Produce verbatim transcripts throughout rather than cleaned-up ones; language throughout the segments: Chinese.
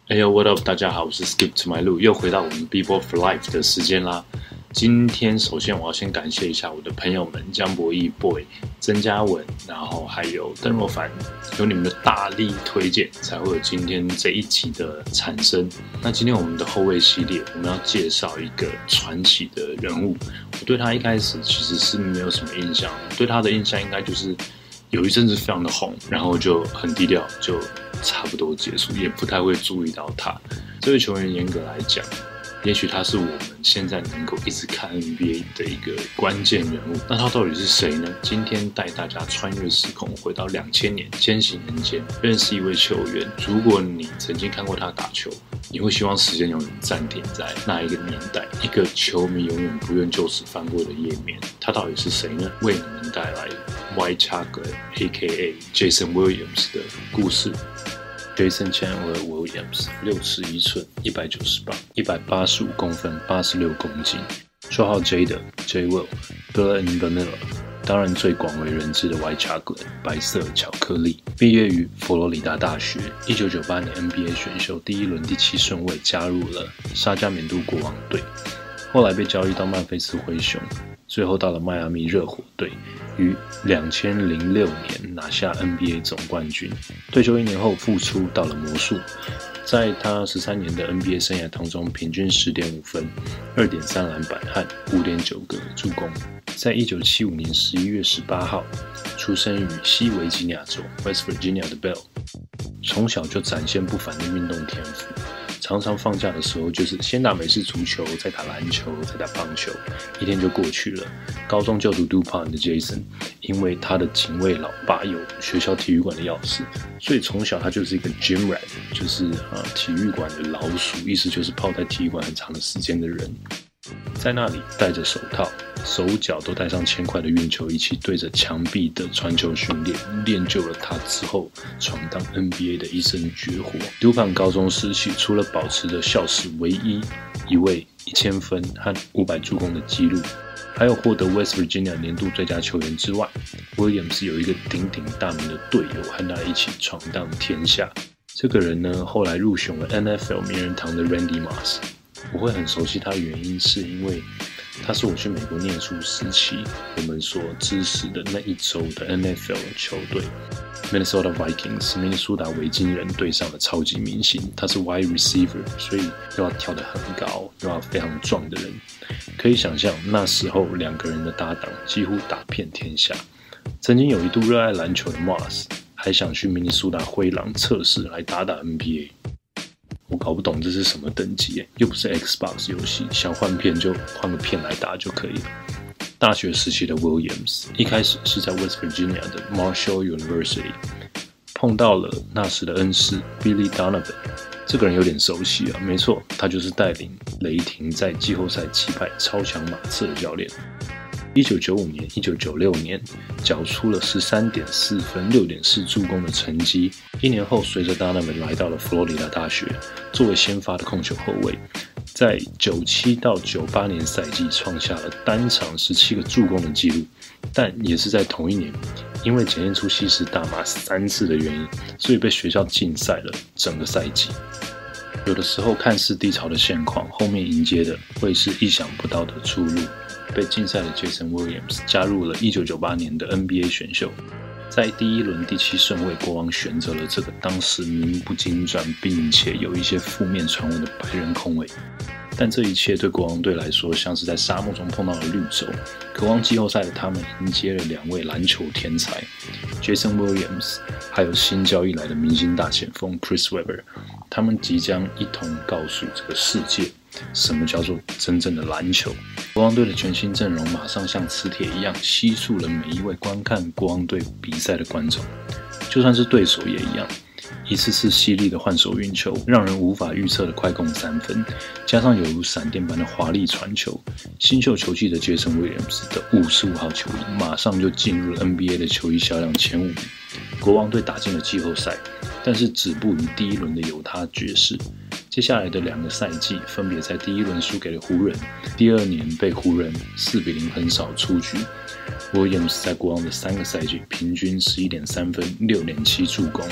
Hey yo, what up？ 大家好，我是 Skip to my 路，又回到我们 Bebo for Life 的时间啦。今天首先我要先感谢一下我的朋友们江博义 Boy、曾嘉文，然后还有邓若凡，有你们的大力推荐，才会有今天这一集的产生。那今天我们的后卫系列，我们要介绍一个传奇的人物。我对他一开始其实是没有什么印象，对他的印象应该就是有一阵子非常的红，然后就很低调，就差不多结束，也不太会注意到他。这位球员严格来讲，也许他是我们现在能够一直看 N B A 的一个关键人物。那他到底是谁呢？今天带大家穿越时空，回到两千年千禧年间，认识一位球员。如果你曾经看过他打球，你会希望时间永远暂停在那一个年代，一个球迷永远不愿就此翻过的页面。他到底是谁呢？为你们带来 White Chocolate A K A Jason Williams 的故事。Jason Chandler Williams 六尺一寸，一百九十磅，一百八十五公分，八十六公斤，绰号 J 的 J Will Bill and Vanilla， 当然最广为人知的 White Chocolate 白色巧克力。毕业于佛罗里达大学，一九九八年 N B A 选秀第一轮第七顺位加入了沙加缅度国王队，后来被交易到曼菲斯灰熊，最后到了迈阿密热火队，于二千零六年拿下 N B A 总冠军。退休一年后复出到了魔术，在他十三年的 N B A 生涯当中，平均 十点五分、二点三篮板和 五点九个助攻。在一九七五年十一月十八号，出生于西维吉尼亚州 West Virginia 的 Bell， 从小就展现不凡的运动天赋。常常放假的时候就是先打美式足球，再打篮球，再打棒球，一天就过去了。高中就读 DuPont 的 Jason， 因为他的警卫老爸有学校体育馆的钥匙，所以从小他就是一个 gym rat， 就是呃体育馆的老鼠，意思就是泡在体育馆很长的时间的人。在那里戴着手套，手脚都戴上铅块的运球，一起对着墙壁的传球训练，练就了他之后闯荡 N B A 的一身绝活。DuPont 高中时期，除了保持着校史唯一一位一千分和五百助攻的纪录，还有获得 West Virginia 年度最佳球员之外， Williams 有一个鼎鼎大名的队友和他一起闯荡天下。这个人呢，后来入选了 N F L 名人堂的 Randy Moss。我会很熟悉他的原因，是因为他是我去美国念书时期我们所支持的那一周的 N F L 球队 Minnesota Vikings 明尼苏达维京人队上的超级明星。他是 wide receiver， 所以又要跳得很高，又要非常壮的人。可以想象那时候两个人的搭档几乎打遍天下。曾经有一度热爱篮球的 Moss 还想去明尼苏达灰狼测试来打打 N B A。我搞不懂这是什么等级耶，又不是 Xbox 游戏，想换片就换个片来打就可以了。大学时期的 Williams 一开始是在 West Virginia 的 Marshall University 碰到了那时的恩师 Billy Donovan， 这个人有点熟悉啊，没错，他就是带领雷霆在季后赛击败超强马刺的教练。一九九五年、一九九六年，缴出了 十三点四分、六点四助攻的成绩。一年后，随着 Donovan 来到了佛罗里达大学，作为先发的控球后卫，在九七到九八年赛季创下了单场十七个助攻的纪录。但也是在同一年，因为检验出吸食大麻三次的原因，所以被学校禁赛了整个赛季。有的时候看似低潮的现况，后面迎接的会是意想不到的出路。被禁赛的 Jason Williams 加入了一九九八年的 N B A 选秀，在第一轮第七顺位，国王选择了这个当时名不经传并且有一些负面传闻的白人控卫。但这一切对国王队来说像是在沙漠中碰到了绿洲。渴望季后赛的他们迎接了两位篮球天才 Jason Williams 还有新交易来的明星大前锋 Chris Webber， 他们即将一同告诉这个世界什么叫做真正的篮球。国王队的全新阵容马上像磁铁一样吸住了每一位观看国王队比赛的观众，就算是对手也一样。一次次犀利的换手运球，让人无法预测的快攻三分，加上犹如闪电般的华丽传球，新秀球季的 Jason Williams 的五十五号球衣马上就进入了 N B A 的球衣销量前五名。国王队打进了季后赛，但是止步于第一轮的犹他爵士。接下来的两个赛季分别在第一轮输给了湖人，第二年被湖人四比零横扫出局。Williams 在国王的三个赛季平均 十一点三分、六点七助攻，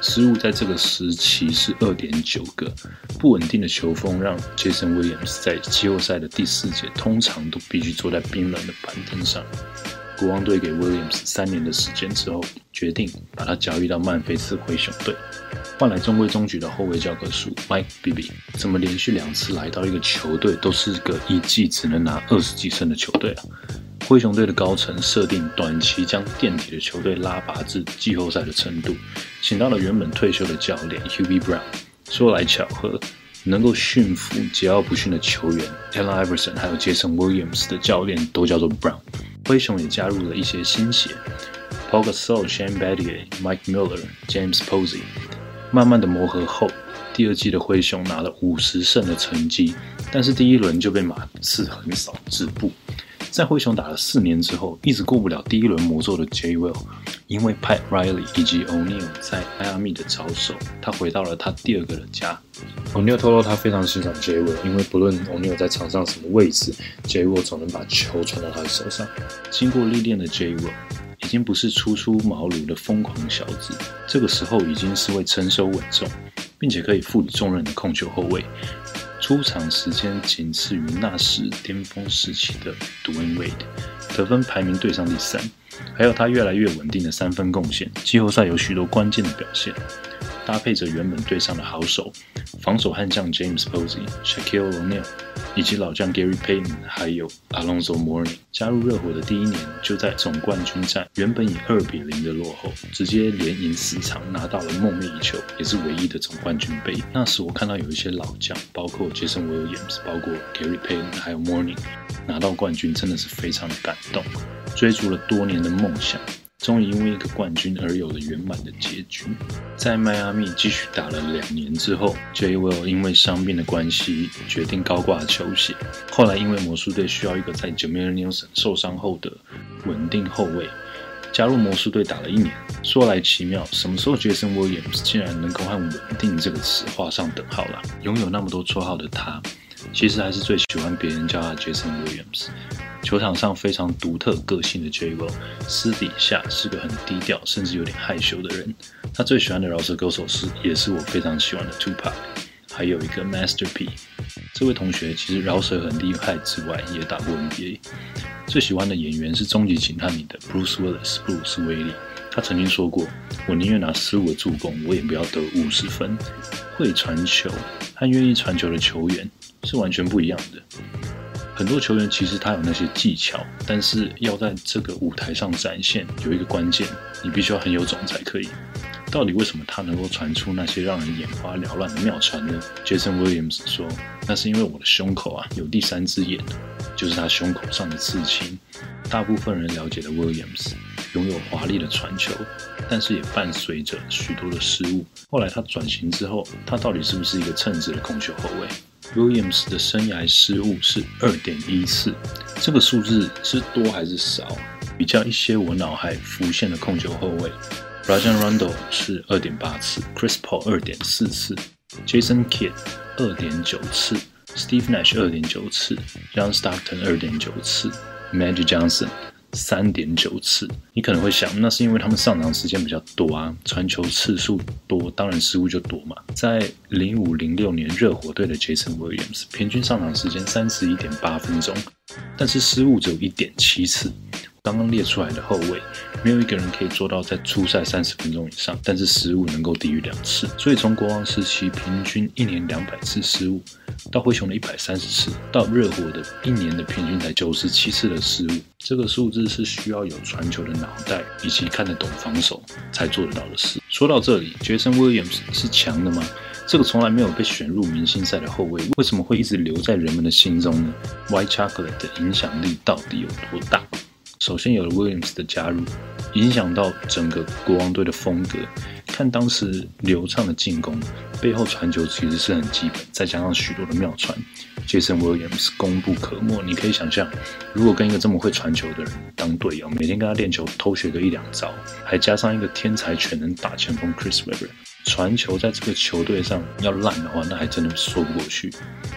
失误在这个时期是 二点九 个，不稳定的球风让 Jason Williams 在季后赛的第四节通常都必须坐在冰冷的板凳上。国王队给 Williams 三年的时间之后，决定把他交易到曼菲斯灰熊队，换来中规中矩的后卫教科书 Mike Bibby。怎么连续两次来到一个球队都是个一季只能拿二十几胜的球队啊？灰熊队的高层设定短期将垫底的球队拉拔至季后赛的程度，请到了原本退休的教练 Hubie Brown。说来巧合，能够驯服桀骜不驯的球员 Allen Iverson 还有 Jason Williams 的教练都叫做 Brown。灰熊也加入了一些新血 Paul Gasol、Shane Battier、Mike Miller、James Posey。慢慢的磨合后，第二季的灰熊拿了五十胜的成绩，但是第一轮就被马刺横扫止步。在灰熊打了四年之后，一直过不了第一轮魔咒的 J. Will， 因为 Pat Riley 以及 O'Neal 在迈阿密的招手，他回到了他第二个的家。O'Neal 透露他非常欣赏 J. Will， 因为不论 O'Neal 在场上什么位置， J. Will 总能把球传到他的手上。经过历练的 J. Will 已经不是初出茅庐的疯狂小子，这个时候已经是位成熟稳重，并且可以负起重任的控球后卫。出场时间仅次于那时巅峰时期的 Dwayne Wade， 得分排名队上第三，还有他越来越稳定的三分贡献，季后赛有许多关键的表现。搭配着原本队上的好手，防守悍将 James Posey、Shaquille O'Neal 以及老将 Gary Payton 还有 Alonzo Mourning。加入热火的第一年，就在总冠军战原本以二比零的落后，直接连赢四场，拿到了梦寐以求也是唯一的总冠军杯。那时我看到有一些老将，包括 Jason Williams、包括 Gary Payton 还有 Mourning 拿到冠军，真的是非常的感动。追逐了多年的梦想，终于因为一个冠军而有了圆满的结局。在迈阿密继续打了两年之后， J. Will 因为伤病的关系决定高挂球鞋。后来因为魔术队需要一个在 Jameer Nelson 受伤后的稳定后卫，加入魔术队打了一年。说来奇妙，什么时候 Jason Williams 竟然能够和稳定这个词画上等号了？拥有那么多绰号的他，其实还是最喜欢别人叫他 Jason Williams。球场上非常独特个性的 J. Will， 私底下是个很低调甚至有点害羞的人。他最喜欢的饶舌歌手是也是我非常喜欢的 Tupac， 还有一个 Master P。 这位同学其实饶舌很厉害之外，也打过 N B A。 最喜欢的演员是终极警探里的 Bruce Willis 布鲁斯威利。他曾经说过，我宁愿拿十五个助攻，我也不要得五十分。会传球和愿意传球的球员是完全不一样的。很多球员其实他有那些技巧，但是要在这个舞台上展现，有一个关键，你必须要很有种才可以。到底为什么他能够传出那些让人眼花缭乱的妙传呢？ Jason Williams 说，那是因为我的胸口啊有第三只眼，就是他胸口上的刺青。大部分人了解的 Williams 拥有华丽的传球，但是也伴随着许多的失误。后来他转型之后，他到底是不是一个称职的控球后卫？Williams 的生涯失误是 二点一 次，这个数字是多还是少？比较一些我脑海浮现的控球后卫 Rajon Rondo 是 二点八 次， Chris Paul 二点四 次， Jason Kidd 二点九 次， Steve Nash 二点九 次， John Stockton 二点九 次， Magic Johnson三点九 次。你可能会想，那是因为他们上场时间比较多啊，传球次数多，当然失误就多嘛。在零五零六年热火队的 Jason Williams 平均上场时间 三十一点八 分钟，但是失误只有 一点七 次。刚刚列出来的后卫，没有一个人可以做到在初赛三十分钟以上，但是失误能够低于两次。所以从国王时期平均一年两百次失误，到灰熊的一百三十次，到热火的一年的平均才九十七次的失误，这个数字是需要有传球的脑袋以及看得懂防守才做得到的事。说到这里 Jason Williams 是强的吗？这个从来没有被选入明星赛的后卫，为什么会一直留在人们的心中呢？ White Chocolate 的影响力到底有多大？首先有了 Williams 的加入，影响到整个国王队的风格。看当时流畅的进攻，背后传球其实是很基本，再加上许多的妙传 ，Jason Williams 功不可没。你可以想象，如果跟一个这么会传球的人当队友，每天跟他练球，偷学个一两招，还加上一个天才全能打前锋 Chris Webber， 传球在这个球队上要烂的话，那还真的说不过去。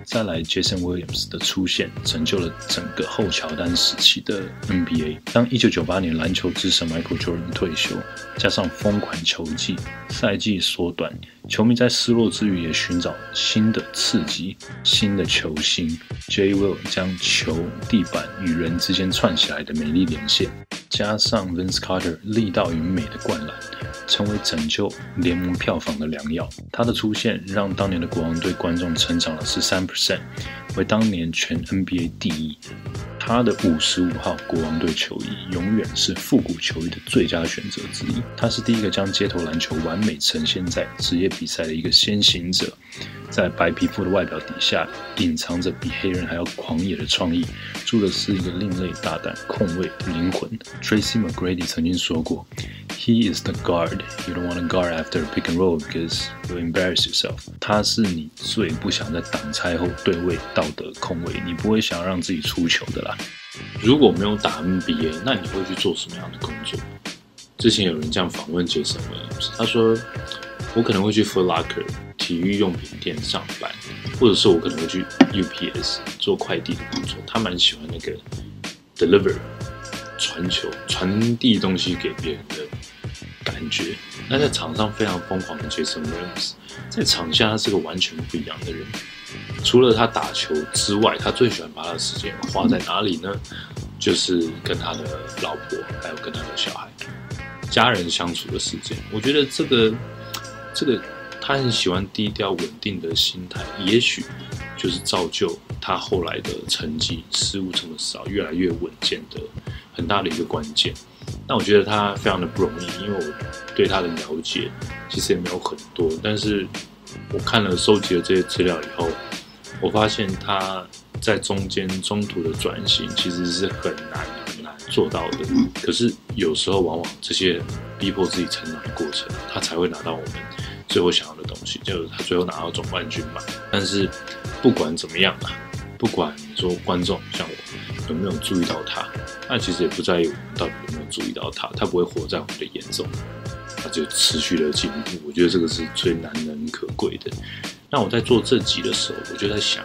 再来 Jason Williams 的出现，拯救了整个后乔丹时期的 N B A。当一九九八年篮球之神 Michael Jordan 退休，加上疯狂球季，赛季缩短，球迷在失落之余也寻找新的刺激、新的球星。J. Will 将球、地板与人之间串起来的美丽连线，加上 Vince Carter 力道与美的灌篮，成为拯救联盟票房的良药。他的出现让当年的国王队观众成长了 百分之十三， 为当年全 N B A 第一。他的五十五号国王队球衣永远是复古球衣的最佳选择之一。他是第一个将街头篮球完美呈现在职业比赛的一个先行者，在白皮肤的外表底下隐藏着比黑人还要狂野的创意，住的是一个另类大胆控卫的灵魂。 Tracy McGrady 曾经说过， He is the guard you don't want to guard after a pick and roll because you'll embarrass yourself。 他是你最不想在挡拆后对位到的控卫，你不会想要让自己出球的啦。如果没有打 N B A， 那你会去做什么样的工作？之前有人这样访问 Jason Williams， 他说我可能会去 Foot Locker 体育用品店上班，或者是我可能会去 U P S 做快递的工作。他蛮喜欢那个 deliver 传球、传递东西给别人的感觉。那在场上非常疯狂的 Jason Williams， 在场下他是个完全不一样的人。除了他打球之外，他最喜欢把他的时间花在哪里呢？就是跟他的老婆，还有跟他的小孩、家人相处的时间。我觉得这个，这个他很喜欢低调稳定的心态，也许就是造就他后来的成绩失误这么少，越来越稳健的很大的一个关键。那我觉得他非常的不容易，因为我对他的了解其实也没有很多，但是我看了收集了这些资料以后，我发现他在中间中途的转型其实是很难很难做到的。可是有时候往往这些逼迫自己成长的过程，他才会拿到我们最后想要的东西，就是他最后拿到总冠军嘛。但是不管怎么样啊，不管说观众像我有没有注意到他，那其实也不在于我们到底有没有注意到他，他不会活在我们的眼中，他就持续的进步。我觉得这个是最难能可贵的。那我在做这集的时候，我就在想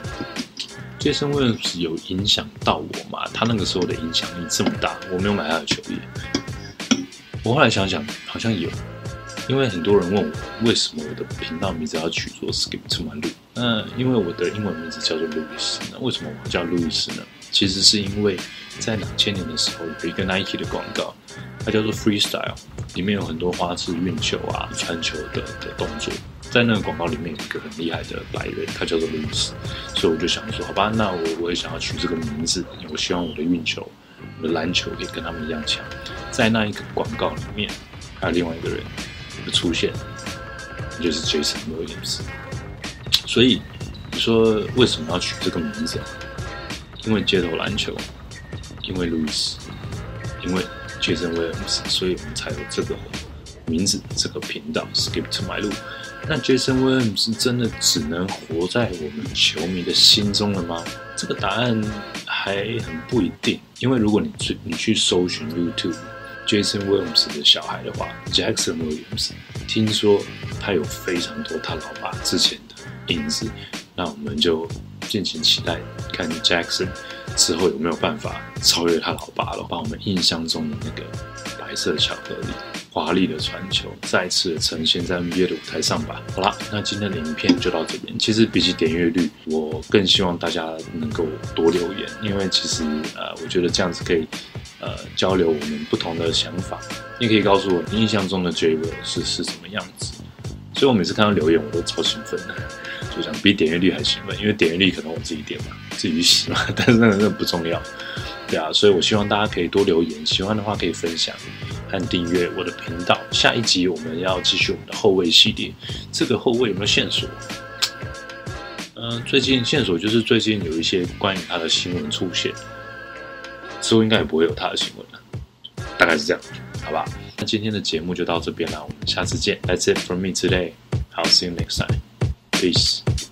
，Jason Williams 有影响到我吗？他那个时候的影响力这么大，我没有买他的球衣。我后来想想，好像有，因为很多人问我为什么我的频道名字要取作 Skip to my Lou。那因为我的英文名字叫做路易斯，那为什么我叫路易斯呢？其实是因为在两千年的时候有一个 Nike 的广告，它叫做 Freestyle， 里面有很多花式运球啊、传球的的动作。在那个广告里面有一个很厉害的白人，他叫做路易斯，所以我就想说，好吧，那我我也想要取这个名字，因为我希望我的运球、我的篮球可以跟他们一样强。在那一个广告里面，还有另外一个人的出现，就是 Jason Williams。所以你说为什么要取这个名字？因为街头篮球，因为路易斯，因为 Jason Williams， 所以我们才有这个名字，这个频道 Skip to my Lou。那 Jason Williams 真的只能活在我们球迷的心中了吗？这个答案还很不一定，因为如果你去你去搜寻 YouTube Jason Williams 的小孩的话 ，Jackson Williams， 听说他有非常多他老爸之前的影子，那我们就敬请期待，看 Jackson 之后有没有办法超越他老爸了，把我们印象中的那个白色巧克力、华丽的传球再次的呈现在 N B A 的舞台上吧。好啦，那今天的影片就到这边。其实比起点阅率，我更希望大家能够多留言，因为其实呃，我觉得这样子可以呃交流我们不同的想法。你可以告诉我你印象中的 J. Will 是是什么样子。所以我每次看到留言，我都超兴奋的，就想比点阅率还兴奋，因为点阅率可能我自己点嘛，自己去洗嘛，但是那个真的不重要。对啊，所以我希望大家可以多留言，喜欢的话可以分享和订阅我的频道。下一集我们要继续我们的后卫系列，这个后卫有没有线索？嗯、呃，最近线索就是最近有一些关于他的新闻出现，之后应该也不会有他的新闻了，大概是这样，好吧？那今天的节目就到这边了，我们下次见。That's it from me today. I'll see you next time. Peace.